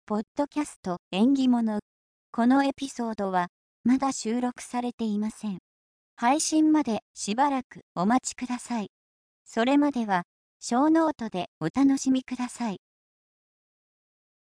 ポッドキャスト縁起物。このエピソードはまだ収録されていません。配信までしばらくお待ちください。それまでは小ノートでお楽しみください。